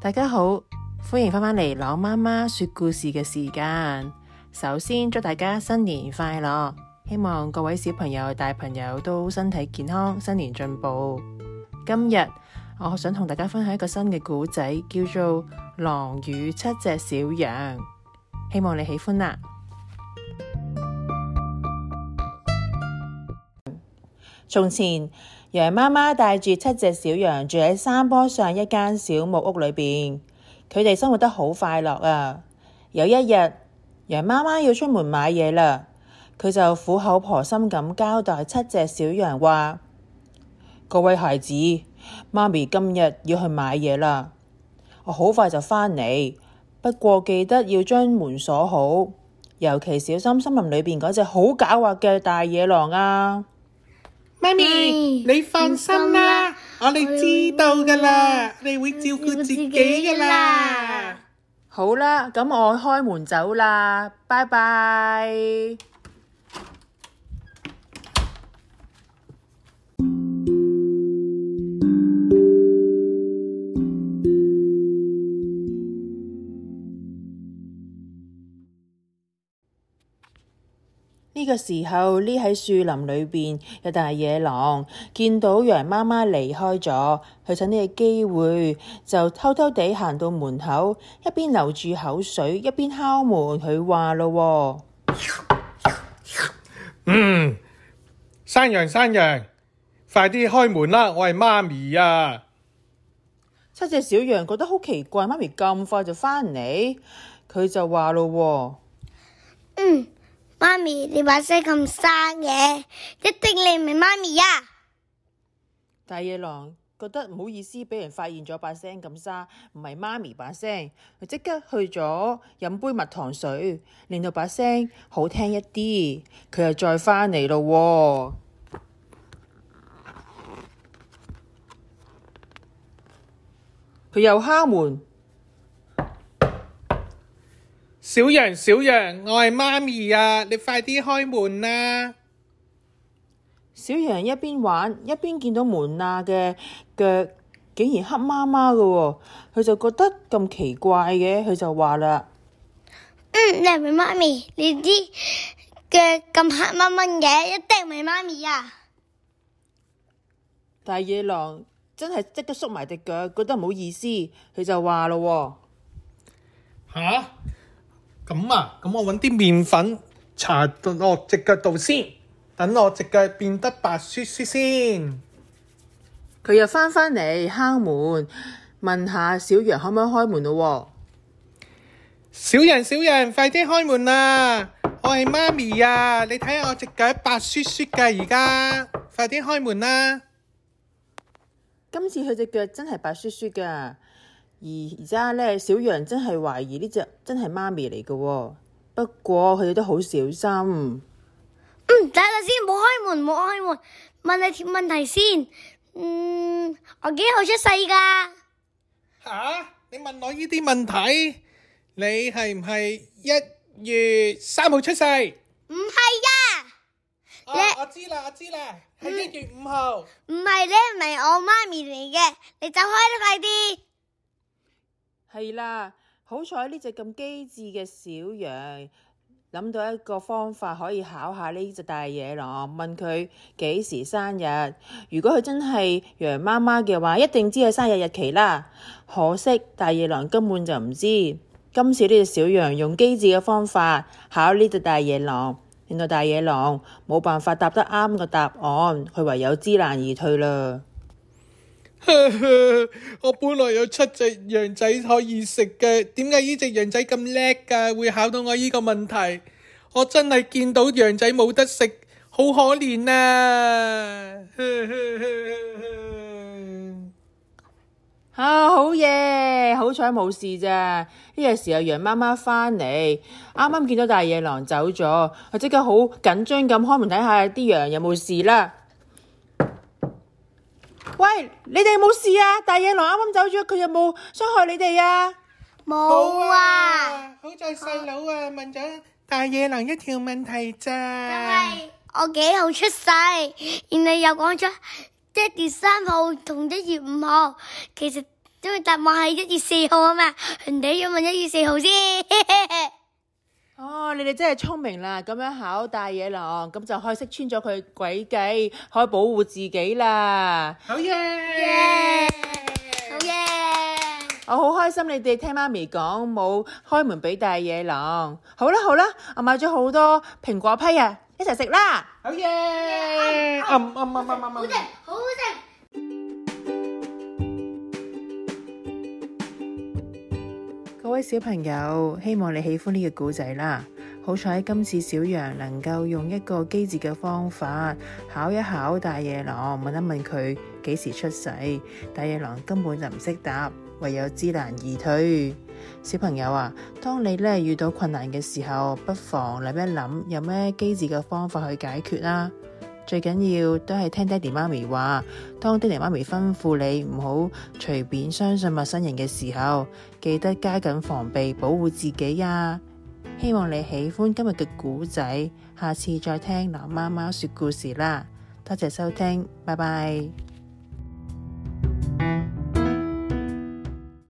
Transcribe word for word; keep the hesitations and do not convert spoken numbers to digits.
大家好，歡迎返返嚟朗媽媽說故事嘅時間。首先祝大家新年快樂，希望各位小朋友、大朋友都身體健康，新年進步。今日我想同大家分享一個新嘅故仔，叫做《狼與七隻小羊》，希望你喜歡啦。從前，羊媽媽帶住七隻小羊住喺山坡上一間小木屋裏邊，佢哋生活得好快樂啊。有一日，羊媽媽要出門買嘢啦，佢就苦口婆心咁交代七隻小羊話：各位孩子，媽咪今日要去買嘢啦，我好快就返嚟，不過記得要將門鎖好，尤其小心森林裏邊嗰隻好狡猾嘅大野狼啊！ 媽咪，你放心啦，我哋知道噶啦，你會照顧自己噶啦。 好啦，咁我開門走啦，拜拜。呢個時候，匿喺樹林裏邊有大野狼見到羊媽媽離開咗，佢趁呢個機會就偷偷地行到門口，一邊流住口水，一邊敲門。佢話咯： 嗯，山羊山羊，快啲開門啦，我係媽咪啊！ 七隻小羊覺得好奇怪，媽咪咁快就返嚟，佢就話咯： 嗯。媽咪，你把聲咁沙嘅，一定你唔係媽咪呀！ 大野狼覺得唔好意思，俾人發現咗把聲咁沙，唔係媽咪把聲，佢即刻去咗飲杯蜜糖水，令到把聲好聽一啲。佢又再返嚟咯，佢又敲門。 小羊小羊，我係媽咪啊！你快啲開門啦！ 小羊一邊玩一邊見到門罅嘅腳竟然黑麻麻嘅，佢就覺得咁奇怪嘅，佢就話啦： 嗯，你係咪媽咪？你啲腳咁黑蚊蚊嘅，一定唔係媽咪啊！ 大野狼真係即刻縮埋隻腳，覺得唔好意思，佢就話咯： 吓？咁啊，咁我搵啲麵粉搽到我隻腳度先，等我隻腳變得白雪雪先。 佢又返返嚟敲門，問下小羊可唔可以開門咯？ 小羊小羊，快啲開門啦！我係媽咪啊！你睇下我隻腳白雪雪㗎而家，快啲開門啦！ 今次佢隻腳真係白雪雪㗎。而而家咧，小羊真係懷疑呢隻真係媽咪嚟嘅，不過佢哋都好小心。 嗯，等下先，唔好開門，唔好開門，問你條問題先。嗯，我幾號出世噶？ 吓？你問我呢啲問題？你係唔係一月三號出世？ 唔係呀。 哦，我知啦，我知啦，係一月五號。 唔係，你唔係我媽咪嚟嘅，你走開啦，快啲！ 係啦，好彩呢隻咁機智嘅小羊諗到一個方法可以考下呢隻大野狼，問佢幾時生日。如果佢真係羊媽媽嘅話，一定知佢生日日期啦。可惜大野狼根本就唔知。今次呢隻小羊用機智嘅方法考呢隻大野狼，令到大野狼冇辦法答得啱個答案，佢唯有知難而退啦。 我本來有七隻羊仔可以食嘅，點解呢隻羊仔咁叻㗎？會考到我呢個問題？我真係見到羊仔冇得食，好可憐啊！ 啊，好嘢，好彩冇事咋。呢個時候羊媽媽返嚟，啱啱見到大野狼走咗，佢即刻好緊張咁開門睇下啲羊有冇事啦。喂，你哋有冇事啊？大野狼啱啱走咗，佢有冇傷害你哋啊？ 冇啊！ 好在細佬啊問咗大野狼一條問題咋。 但係我幾號出世，然後又講咗一月三號同一月五號，其實因為答案係一月四號啊嘛，人哋要問一月四號先。 哦，你哋真係聰明啦！咁樣考大野狼，咁就可以識穿咗佢詭計，可以保護自己啦。 好嘢！ 好嘢！ 我好開心你哋聽媽咪講冇開門俾大野狼。好啦好啦，我買咗好多蘋果批啊，一齊食啦！ 好嘢！嗯嗯嗯嗯嗯好食，好好食。 各位小朋友，希望你喜歡呢個故仔啦。好彩今次小羊能夠用一個機智嘅方法考一考大野狼，問一問佢幾時出世。大野狼根本就唔識答，唯有知難而退。小朋友啊，當你咧遇到困難嘅時候，不妨諗一諗有咩機智嘅方法去解決啦。最緊要都係聽爹哋媽咪話，當爹哋媽咪吩咐你唔好隨便相信陌生人嘅時候，記得加緊防備，保護自己啊！希望你喜歡今日嘅故仔，下次再聽狼貓貓說故事啦！多謝收聽，拜拜。